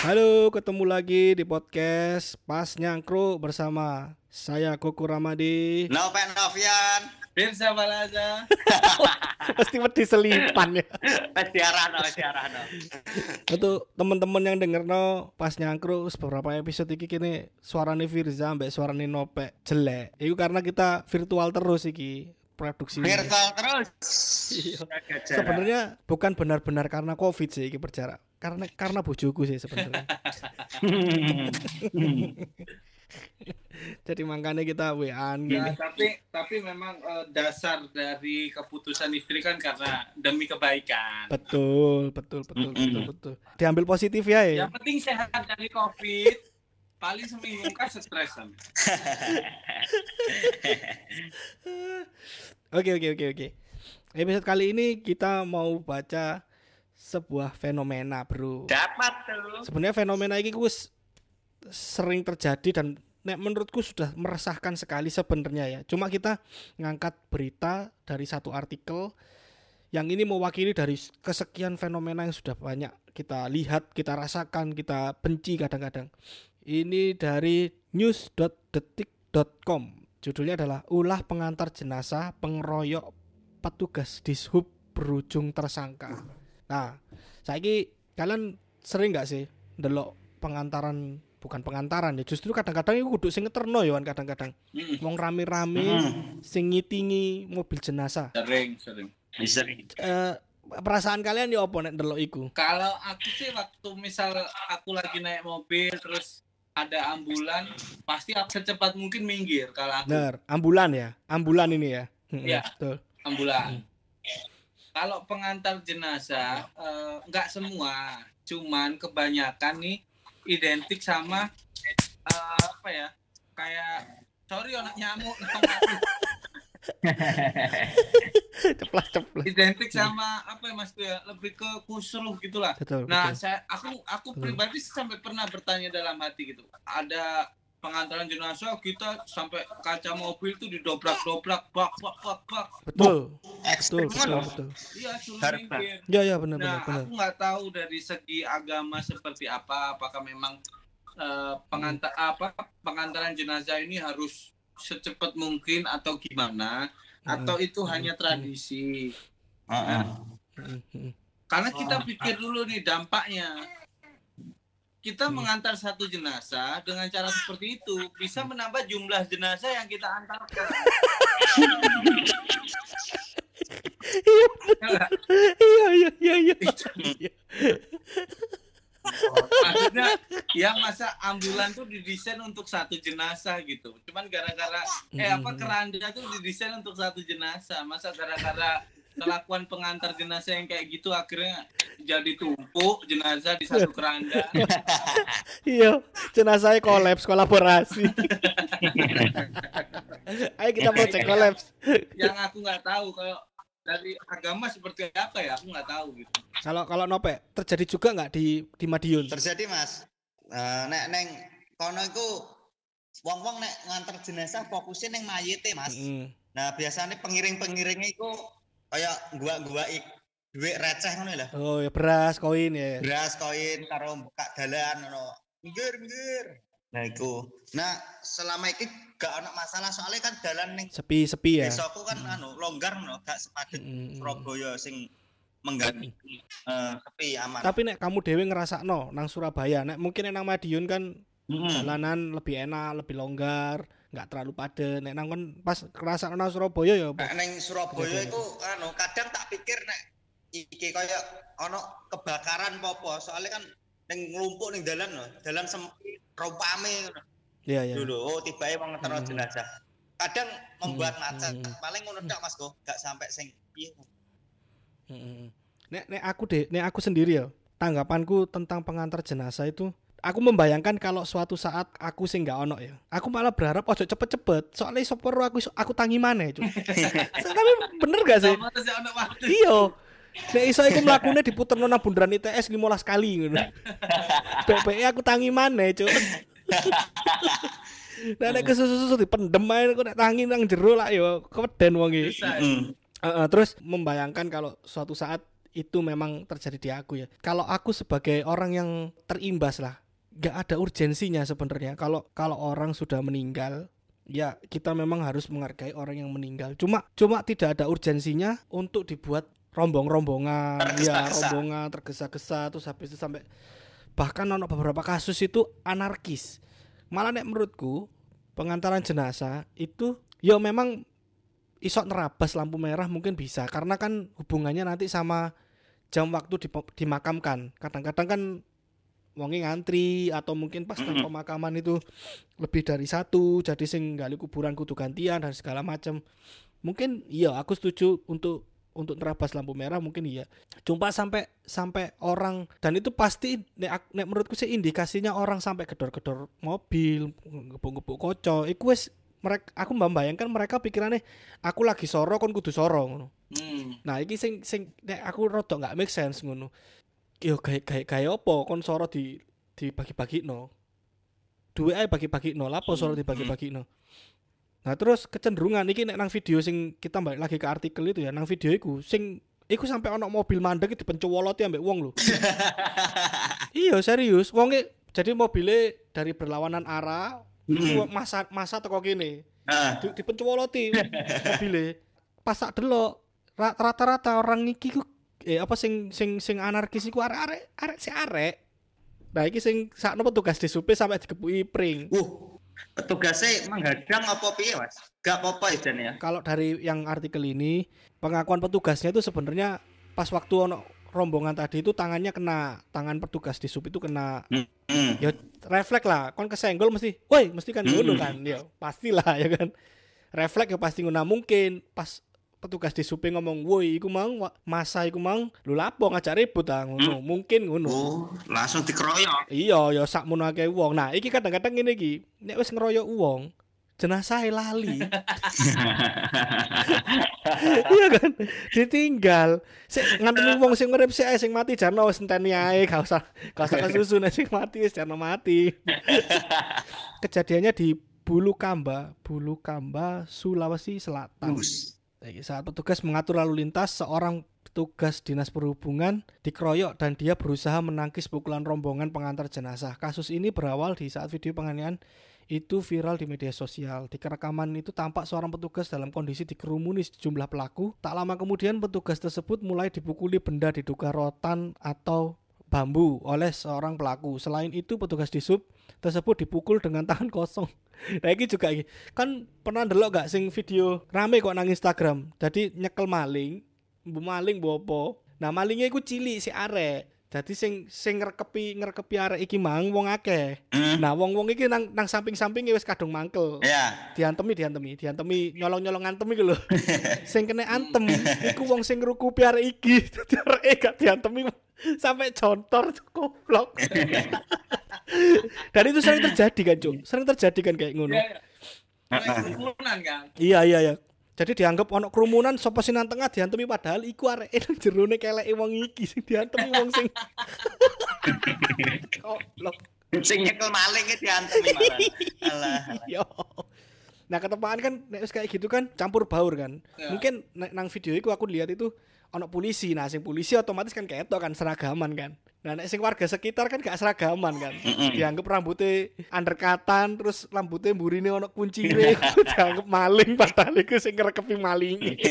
Halo, ketemu lagi di podcast Pas Nyangkruk bersama saya Koko Ramadi. Noven Novian. Firsa Balaza. Pasti wedi selipan ya. Siaran. Untuk teman-teman yang denger Pas Nyangkruk beberapa episode iki kini suarane Firza mbek suarane Nopek jelek. Itu karena kita virtual terus iki produksi. Virtual terus. Iya. Sebenarnya bukan benar-benar karena Covid sih iki berjarak. Karena bojoku sih sebenarnya. Jadi makanya kita WA-an gini. Ya, tapi memang dasar dari keputusan istri kan karena demi kebaikan. Betul. Diambil positif ya. Yang penting sehat dari Covid. Paling seminggu kan stresan. Oke. Episode kali ini kita mau baca sebuah fenomena, bro. Dapat tuh. Sebenarnya fenomena ini sering terjadi dan menurutku sudah meresahkan sekali sebenarnya ya. Cuma kita ngangkat berita dari satu artikel yang ini mewakili dari kesekian fenomena yang sudah banyak kita lihat, kita rasakan, kita benci kadang-kadang. Ini dari news.detik.com. Judulnya adalah ulah pengantar jenazah pengeroyok petugas dishub berujung tersangka. Nah, saiki kalian sering gak sih ndelok bukan pengantaran ya, justru kadang-kadang iku kudu sing ngeterno ya kadang-kadang. Wong rame-rame sing ngitingi mobil jenazah. Sering. Perasaan kalian ya apa nek ndelok iku? Kalau aku sih waktu misal aku lagi naik mobil terus ada ambulan, pasti aku secepat mungkin minggir kalau aku. Bener, ambulan ini ya. Iya, betul. Ambulan. Kalau pengantar jenazah nggak semua, cuman kebanyakan nih identik sama kayak sorry anak nyamuk Ceplas. identik sama Mas tuh ya, lebih ke kusruh gitulah. Betul. Aku pribadi sampai pernah bertanya dalam hati gitu, ada pengantaran jenazah kita sampai kaca mobil tuh didobrak-dobrak bak. Betul. Iya, suruh minggir. Ya benar. Aku nggak tahu dari segi agama seperti apakah memang pengantaran jenazah ini harus secepat mungkin atau gimana, atau itu hanya tradisi. Karena kita pikir dulu nih dampaknya. Kita mengantar satu jenazah dengan cara seperti itu bisa menambah jumlah jenazah yang kita antarkan. Iya. Maksudnya yang masa ambulan tuh didesain untuk satu jenazah gitu. Cuman gara-gara keranda tuh didesain untuk satu jenazah. Masa gara-gara kelakuan pengantar jenazah yang kayak gitu akhirnya jadi tumpuk jenazah di satu keranda. Iya, jenazahnya kolaborasi. Ayo kita mau cek kolaps. Yang aku nggak tahu kalau dari agama seperti apa ya, aku nggak tahu gitu. Kalau Nope terjadi juga nggak di Madiun? Terjadi, Mas. Nek neng kono iku wong-wong nek nganter jenazah fokusnya neng mayite, Mas. Nah, biasanya pengiring-pengiringnya iku kayak gua duit receh ngono lho. Oh ya, beras koin karo buka dalan ngono. Minggir. Nah iku. Nah, selama iki gak ana masalah soalnya kan dalan ning sepi ya. Desaku kan longgar ngono, gak sepadet Surabaya sing menggani. Sepi aman. Tapi nek kamu dhewe ngrasakno nang Surabaya, nek mungkin nang Madiun kan jalanan lebih enak, lebih longgar, nggak terlalu padat. Nek nang kon pas ngrasakno nang Surabaya ya apa? Nek nang Surabaya iku kadang tak pikir nek iki kaya ana kebakaran apa soalnya kan ning nglumpuk ning dalan sempit rupame ngono. Iya. Dulu tibae wong ngeterno jenazah. Kadang membuat macet. Paling ngono tok Mas Go, gak sampai sing piye. Nek aku sendiri ya, tanggapanku tentang pengantar jenazah itu, aku membayangkan kalau suatu saat aku sing gak ono ya. Aku malah berharap ojo cepet-cepet. Soalnya sopor aku tangi maneh, Cuk. Tapi bener gak sih? Iya. Nek iso iku mlakune diputerno nang bundaran ITS 15 kali ngono. Bebeke aku tangi maneh, Cuk. Nek kesusu dipendem ae kok nek tangi nang jero lah ya keweden wong iki. Terus membayangkan kalau suatu saat itu memang terjadi di aku ya. Kalau aku sebagai orang yang terimbas lah, nggak ada urgensinya sebenarnya. Kalau orang sudah meninggal, ya kita memang harus menghargai orang yang meninggal. Cuma tidak ada urgensinya untuk dibuat rombongan, rombongan tergesa-gesa terus habis itu sampai bahkan ono beberapa kasus itu anarkis. Malah nek menurutku pengantaran jenazah itu ya memang isok nerabas lampu merah mungkin bisa karena kan hubungannya nanti sama jam waktu dimakamkan. Kadang-kadang kan wonge ngantri atau mungkin pas pemakaman itu lebih dari satu, jadi sing gali kuburan kudu gantian dan segala macam. Mungkin iya aku setuju untuk nerabas lampu merah mungkin iya. Cuma sampai orang, dan itu pasti nek menurutku sih indikasinya orang sampai gedor-gedor mobil, gebuk-gebuk kaca. Iku wis aku membayangkan mereka pikirannya aku lagi soro kon kudu soro ngono. Nah, iki sing nek aku rada enggak make sense ngono. Yo kayak apa kon soro dibagi-bagino. Duwe ae bagi-bagino, lapo soro dibagi-bagino. Nah, terus kecenderungan iki nek nang video sing kita balik lagi ke artikel itu ya, nang video iku sampai ono mobil mandek dipencuwoloti ambek wong lho. Iya, serius. Wonge jadi mobilnya dari berlawanan arah masa teko kene. Dipencuwoloti mobilnya. Pas sak delok rata-rata orang iki ku sing anarkis iku arek si arek. Nah, iki sing sakno petugas disupe sampai digepuki pring. Petugasnya menghadang apa piye, Mas? Gak apa-apa ya. Kalau dari yang artikel ini, pengakuan petugasnya itu sebenarnya pas waktu ono rombongan tadi itu tangannya kena, tangan petugas di sub itu kena. Ya refleks lah, kon kesenggol mesti, woi mesti kan ngono kan, ya pastilah ya kan. Refleks ya pasti ngono, mungkin pas petugas di sub ngomong, woi iku mang masa iku mang lu lapo ngajak ribut ah ngono, mungkin ngono. Oh, langsung dikeroyok. Iya, ya sakmono akeh wong. Nah, iki kadang-kadang ngene iki, nek wis ngeroyok wong, jenazah lali. Iya kan? Ditinggal. Sik nganteni wong sing urip sik sing mati jarno wis enteni ae, gak usah kesusu nek sing mati wis jarno mati. Kejadiannya di Bulu Kamba, Sulawesi Selatan. Saat petugas mengatur lalu lintas, seorang petugas dinas perhubungan dikeroyok dan dia berusaha menangkis pukulan rombongan pengantar jenazah. Kasus ini berawal di saat video penganiayaan itu viral di media sosial. Di rekaman itu tampak seorang petugas dalam kondisi dikerumuni sejumlah pelaku. Tak lama kemudian petugas tersebut mulai dipukuli benda diduga rotan atau bambu oleh seorang pelaku. Selain itu petugas di sub tersebut dipukul dengan tangan kosong. Nah ini juga kan pernah ndelok gak sing video rame kok nang Instagram. Jadi nyekel maling bopo. Nah malingnya iku cilik si arek. Jadi sing ngrekepi arek iki mang wong akeh. Nah wong-wong iki nang samping-sampinge wis kadung mangkel. Iya. Diantemi nyolong-nyolong antem iki lho. Sing kena antem iku wong sing ngrukupi arek iki. Dadi areke gak diantemi sampai contor goblok. Dan itu sering terjadi kan, Cuk. Sering terjadi kan kayak ngono. Kerumunan kan. Iya. Jadi dianggap ono kerumunan sapa sing nang tengah diantemi padahal iku areke nang jerone keleke wong iki sing diantemi wong sing goblok. Sing nyekel maling e diantemi malah. Alah. Yo. Nah, ketepaan kan nek wis kayak gitu kan campur baur kan. Ya. Mungkin nang video iku aku lihat itu ono polisi. Nah, sing polisi otomatis kan ketok kan seragaman kan. Nah, nek sing warga sekitar kan gak seragaman kan. Dianggap rambutnya undercutan, terus rambutnya mburine ono kuncire, dianggap maling padahal iku sing ngrekepi maling.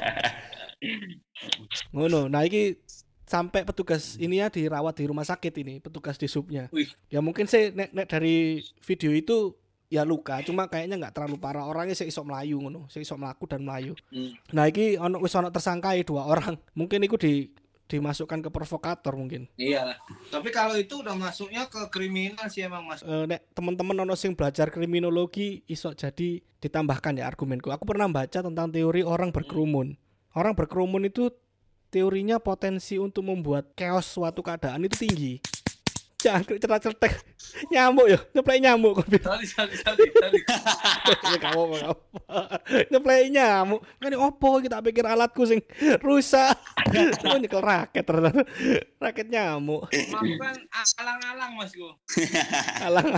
Ngono. Nah, iki sampai petugas ini ya dirawat di rumah sakit ini, petugas di subnya. Ya mungkin sih nek dari video itu ya luka, cuma kayaknya nggak terlalu parah, orangnya sih iso melayu ngono, sih iso melaku dan melayu. Nah, iki ono tersangkai 2 orang, mungkin iku dimasukkan ke provokator mungkin. Iyalah. Tapi kalau itu udah masuknya ke kriminal sih emang Mas. Nek teman-teman ono sing belajar kriminologi iso jadi ditambahkan ya argumenku. Aku pernah baca tentang teori orang berkerumun. Orang berkerumun itu teorinya potensi untuk membuat chaos suatu keadaan itu tinggi. Jangkrik cetak-cetek nyamuk ya, nyeplek nyamuk. Sorry. Ya kamu nyeplek nyamuk. Kan opo kita pikir alatku sing rusak. Oh nyekel raket ternyata. Raket nyamuk. Makan alang-alang Masku.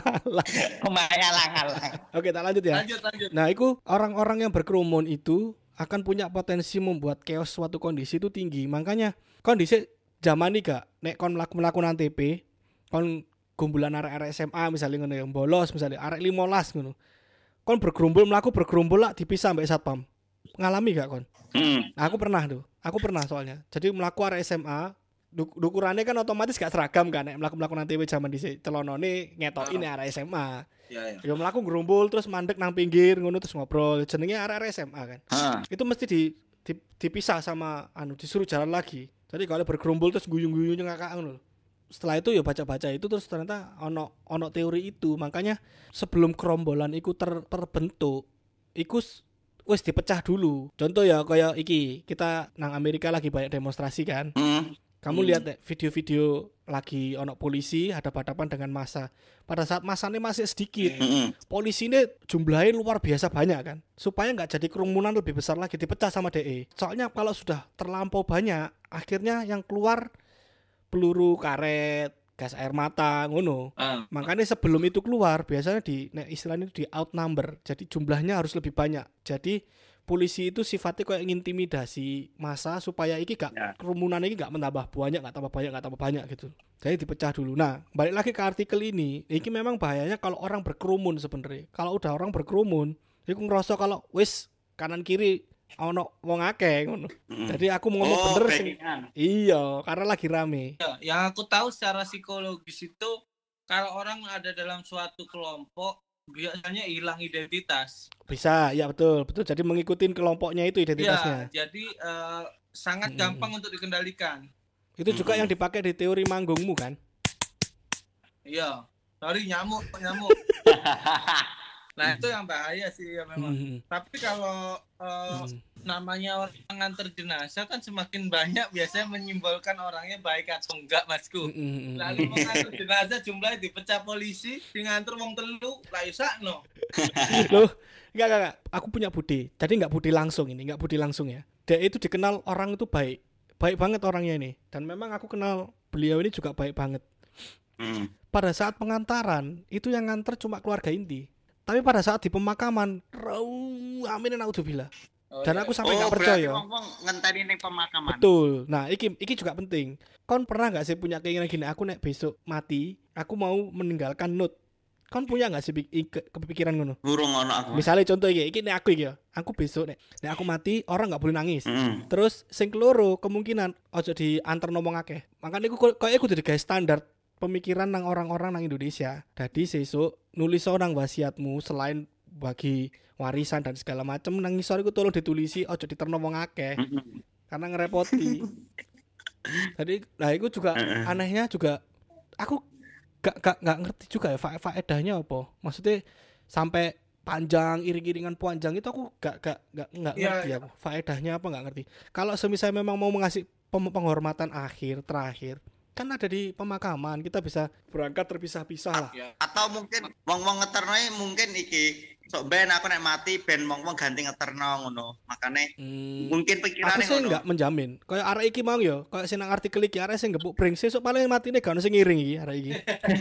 Alang-alang. Pemain alang-alang. Oke, tak lanjut ya. Lanjut. Nah, itu orang-orang yang berkerumun itu akan punya potensi membuat chaos suatu kondisi itu tinggi. Makanya kondisi zaman ini gak nek kon melakukan TP, kon gumbulan arek-arek SMA misalnya ngono yang bolos misalnya arek 15 ngono. Kon bergerumbul lah dipisah mbek satpam. Ngalami gak kon? Aku pernah soalnya. Jadi melaku arek SMA, ukurannya kan otomatis gak seragam kan nek melakukan TP zaman dhisik. Celonone ngetoki arek SMA. Ya melaku gerumbul terus mandek nang pinggir ngono terus ngobrol. Jenenge arek-arek SMA kan. Itu mesti dipisah sama disuruh jalan lagi. Jadi kalau bergerumbul terus guyung-guyung ngakak ngono. Setelah itu ya baca-baca itu terus ternyata ono teori itu. Makanya sebelum kerombolan iku terbentuk, iku wis dipecah dulu. Contoh ya kayak iki, kita nang Amerika lagi banyak demonstrasi kan. Kamu lihat deh video-video lagi ono polisi hadap-hadapan dengan massa. Pada saat massanya masih sedikit, polisi ini jumlahnya luar biasa banyak kan. Supaya nggak jadi kerumunan lebih besar lagi dipecah sama DE. Soalnya kalau sudah terlampau banyak, akhirnya yang keluar peluru karet, gas air mata, ngono. Makanya sebelum itu keluar, biasanya istilahnya di outnumber. Jadi jumlahnya harus lebih banyak. Jadi polisi itu sifatnya kayak ngintimidasi massa supaya kerumunan ini gak menambah banyak gitu. Jadi dipecah dulu. Nah, balik lagi ke artikel ini memang bahayanya kalau orang berkerumun sebenarnya. Kalau udah orang berkerumun, iku ngerasa kalau wis kanan kiri ono wong akeh ngono. Jadi aku mau ngomong bener sing. Iya, karena lagi rame. Ya, yang aku tahu secara psikologis itu kalau orang ada dalam suatu kelompok biasanya hilang identitas. Bisa, ya betul. Jadi mengikuti kelompoknya itu identitasnya. Ya, jadi sangat gampang untuk dikendalikan. Itu juga yang dipakai di teori manggungmu kan? Iya. Sorry nyamuk. Nah, itu yang bahaya sih ya memang. Tapi kalau namanya orang nganter jenazah kan semakin banyak biasanya menyimbolkan orangnya baik atau enggak, Masku. Lalu mengantar jenazah jumlahnya dipecah polisi, nganter wong telu, lah isakno. Loh, enggak. Aku punya budi. Jadi enggak budi langsung ya. Dia itu dikenal orang itu baik. Baik banget orangnya ini. Dan memang aku kenal beliau ini juga baik banget. Pada saat pengantaran, itu yang nganter cuma keluarga inti. Tapi pada saat di pemakaman, aminin naudzubillah. Dan aku sampai nggak percaya. Ngomong ngenteni ning pemakaman. Betul. Nah, iki juga penting. Kon pernah nggak sih punya keinginan gini? Aku nek besok mati, aku mau meninggalkan note. Kon punya nggak sih kepikiran ngono? Burung ono aku. Misalnya contoh iki nek aku iki ya. Aku besok nek aku mati, orang nggak boleh nangis. Terus sing keloro kemungkinan ojo diantar ngomong akeh. Makanya aku koyo aku jadi guys standar pemikiran nang orang-orang nang Indonesia. Jadi sesuk nulis seorang wasiatmu selain bagi warisan dan segala macam nang ngisor iku tolong ditulisi ojo diterno wong akeh. Karena ngerepoti. Jadi nah itu juga anehnya juga aku gak ngerti juga ya faedahnya apa. Maksudnya sampai panjang iring-iringan panjang itu aku gak ngerti aku. Faedahnya apa gak ngerti. Kalau semisal memang mau ngasih penghormatan terakhir kan ada di pemakaman, kita bisa berangkat terpisah-pisah lah. Atau mungkin wong-wong ngeternoe mungkin iki sok ben aku nek mati ben wong-wong ganti ngeterno ngono. Makane mungkin pikirane ngono. Aku sih enggak menjamin. Kayak arek iki mau ya, kayak sing nang artikel iki arek sing gebuk pring sesuk paling matine gak ono sing ngiring iki arek iki.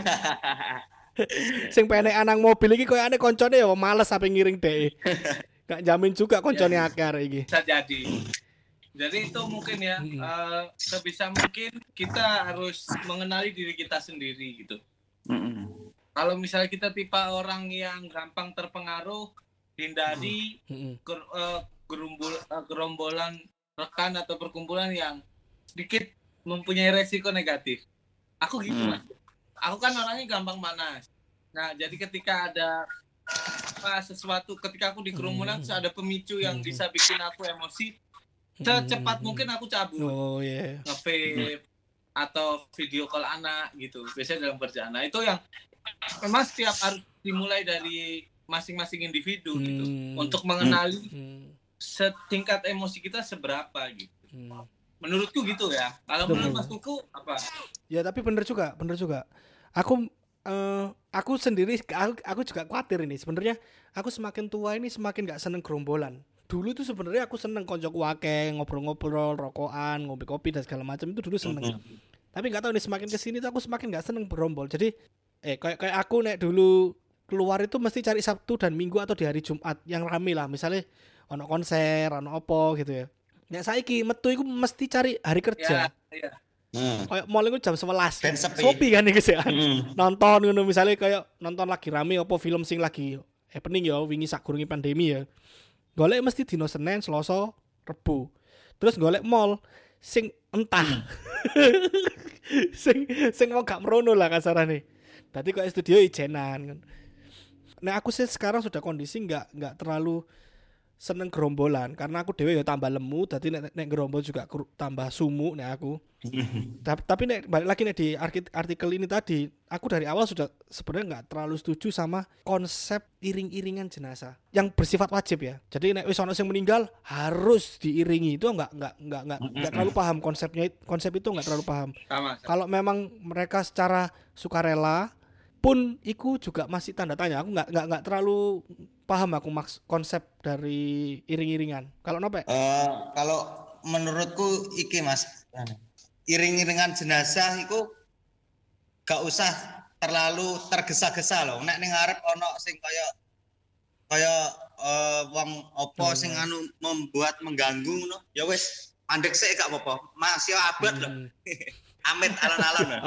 Sing penek nang mobil iki koyo ane koncone ya males sampe ngiring dhek. Gak jamin juga koncone akeh arek iki. Bisa jadi. Jadi itu mungkin ya sebisa mungkin kita harus mengenali diri kita sendiri gitu. Kalau misalnya kita tipe orang yang gampang terpengaruh, hindari gerombolan rekan atau perkumpulan yang sedikit mempunyai resiko negatif. Aku gitu Mas. Aku kan orangnya gampang panas. Nah jadi ketika ada sesuatu, ketika aku di kerumunan ada pemicu yang bisa bikin aku emosi, secepat mungkin aku cabut. Nge-vape atau video call anak gitu. Biasanya dalam kerjaan. Nah, itu yang memang setiap harus dimulai dari masing-masing individu gitu. Untuk mengenali setingkat emosi kita seberapa gitu. Menurutku gitu ya. Kalau menurut Mas Kuku apa? Ya, tapi bener juga. Aku sendiri aku juga khawatir ini. Sebenarnya aku semakin tua ini semakin gak seneng gerombolan. Dulu tuh sebenarnya aku seneng koncoku akeh, ngobrol-ngobrol, rokokan, ngopi kopi dan segala macam itu dulu seneng. Tapi nggak tahu nih semakin kesini tuh aku semakin nggak seneng berombol. Jadi kayak aku nek dulu keluar itu mesti cari Sabtu dan Minggu atau di hari Jumat yang rame lah. Misalnya ono konser, ono opo gitu ya. Nek saiki metu iku mesti cari hari kerja. Iya. Kayak mall iku jam 11. Ben sepi. Sepi kan iki sih. Nonton ngono misalnya kayak nonton lagi rame apa film sing lagi happening ya wingi sakurunge pandemi ya. Golek mesti dino Senin, Selasa, Rebo. Terus golek mall sing entah. sing mau gak merono lah kasarane. Dadi kok studio ijenan kan. Nah aku sih sekarang sudah kondisi nggak terlalu seneng gerombolan karena aku dewe ya tambah lemu, dadi nek gerombol juga tambah sumuk nek aku. Tapi nek balik lagi nek di artikel ini tadi, aku dari awal sudah sebenarnya nggak terlalu setuju sama konsep iring-iringan jenazah yang bersifat wajib ya. Jadi nek wis ono sing meninggal harus diiringi, itu nggak terlalu paham konsepnya, konsep itu nggak terlalu paham. Sama. Kalau memang mereka secara sukarela pun iku juga masih tanda tanya. Aku nggak terlalu paham aku konsep dari iring-iringan. Kalau nope? Kalau menurutku iki Mas, iring-iringan jenazah iku gak usah terlalu tergesa-gesa loh. Nek ning ngarep ono sing kaya wong opo sing anu membuat mengganggu ngono. Ya wis, mandek sik gak apa-apa. Masih abad loh. Amit alon-alon loh.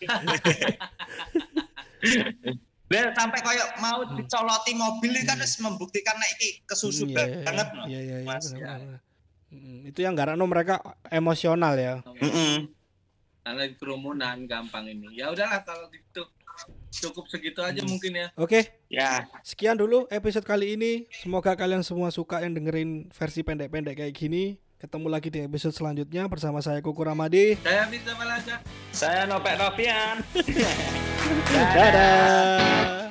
Sampai kayak mau dicoloti mobil kan harus membuktikan nek iki kesusu banget loh. Iya, Mas. Itu yang garakno mereka emosional ya. Karena kerumunan gampang ini. Ya udahlah kalau gitu. Cukup segitu aja mungkin ya. Oke. Ya. Sekian dulu episode kali ini. Semoga kalian semua suka yang dengerin versi pendek-pendek kayak gini. Ketemu lagi di episode selanjutnya bersama saya Kuku Ramadi. Saya Bisa Malaja. Saya Nopek Novian. Dadah.